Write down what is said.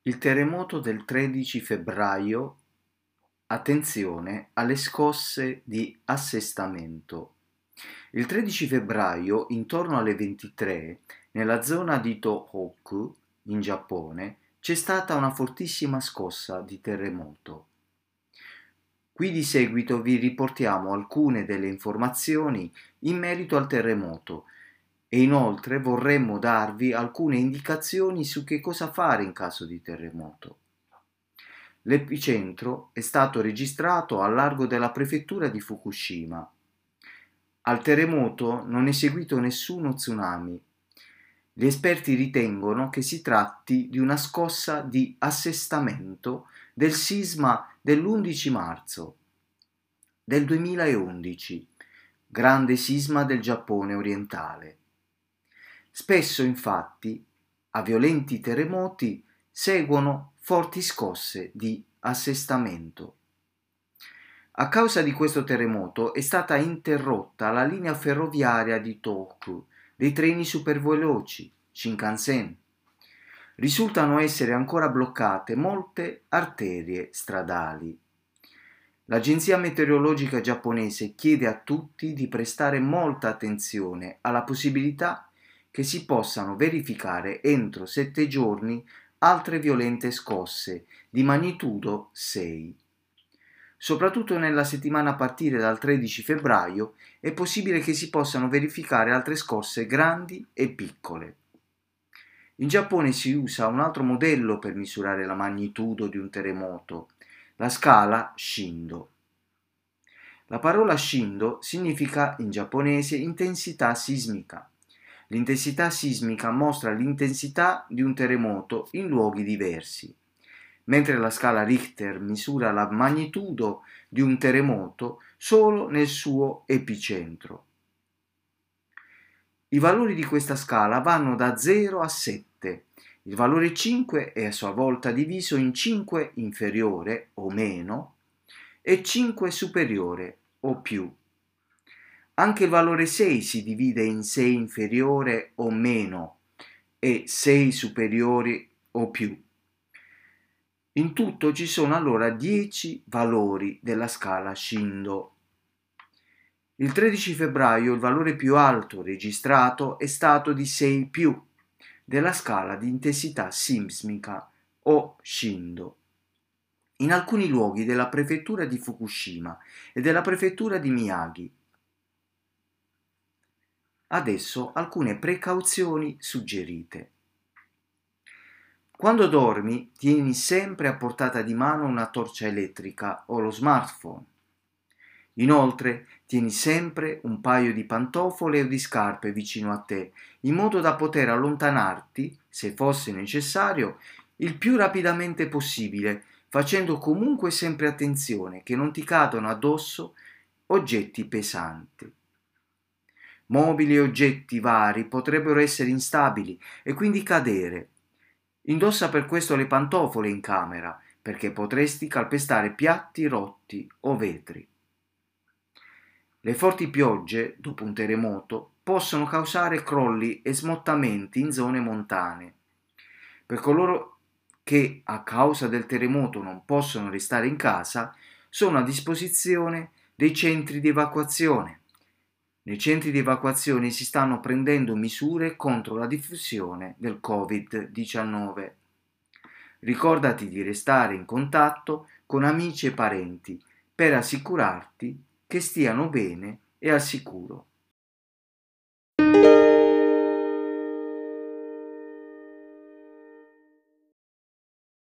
Il terremoto del 13 febbraio, attenzione alle scosse di assestamento. Il 13 febbraio, intorno alle 23, nella zona di Tohoku, in Giappone, c'è stata una fortissima scossa di terremoto. Qui di seguito vi riportiamo alcune delle informazioni in merito al terremoto e inoltre vorremmo darvi alcune indicazioni su che cosa fare in caso di terremoto. L'epicentro è stato registrato al largo della prefettura di Fukushima. Al terremoto non è seguito nessuno tsunami. Gli esperti ritengono che si tratti di una scossa di assestamento del sisma dell'11 marzo del 2011, grande sisma del Giappone orientale. Spesso, infatti, a violenti terremoti seguono forti scosse di assestamento. A causa di questo terremoto è stata interrotta la linea ferroviaria di Tohoku dei treni superveloci Shinkansen. Risultano essere ancora bloccate molte arterie stradali. L'agenzia meteorologica giapponese chiede a tutti di prestare molta attenzione alla possibilità che si possano verificare entro 7 giorni altre violente scosse di magnitudo 6. Soprattutto nella settimana a partire dal 13 febbraio è possibile che si possano verificare altre scosse grandi e piccole. In Giappone si usa un altro modello per misurare la magnitudo di un terremoto, la scala Shindo. La parola Shindo significa in giapponese intensità sismica. L'intensità sismica mostra l'intensità di un terremoto in luoghi diversi, mentre la scala Richter misura la magnitudo di un terremoto solo nel suo epicentro. I valori di questa scala vanno da 0 a 7. Il valore 5 è a sua volta diviso in 5 inferiore o meno e 5 superiore o più. Anche il valore 6 si divide in 6 inferiore o meno e 6 superiori o più. In tutto ci sono allora 10 valori della scala Shindo. Il 13 febbraio il valore più alto registrato è stato di 6 più della scala di intensità sismica o Shindo. In alcuni luoghi della prefettura di Fukushima e della prefettura di Miyagi. Adesso alcune precauzioni suggerite. Quando dormi, tieni sempre a portata di mano una torcia elettrica o lo smartphone. Inoltre, tieni sempre un paio di pantofole o di scarpe vicino a te, in modo da poter allontanarti, se fosse necessario, il più rapidamente possibile, facendo comunque sempre attenzione che non ti cadano addosso oggetti pesanti. Mobili e oggetti vari potrebbero essere instabili e quindi cadere. Indossa per questo le pantofole in camera, perché potresti calpestare piatti rotti o vetri. Le forti piogge, dopo un terremoto, possono causare crolli e smottamenti in zone montane. Per coloro che a causa del terremoto non possono restare in casa, sono a disposizione dei centri di evacuazione. Nei centri di evacuazione si stanno prendendo misure contro la diffusione del Covid-19. Ricordati di restare in contatto con amici e parenti per assicurarti che stiano bene e al sicuro.